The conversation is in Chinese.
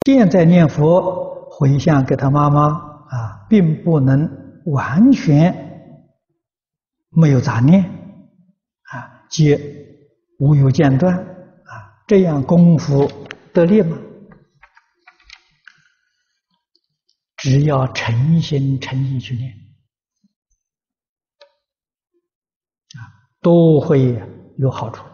現在念佛回向給他媽媽啊，並不能完全沒有雜念啊，皆無有間斷啊，這樣功夫得力嗎？只要誠心誠意去念啊，都會有好處。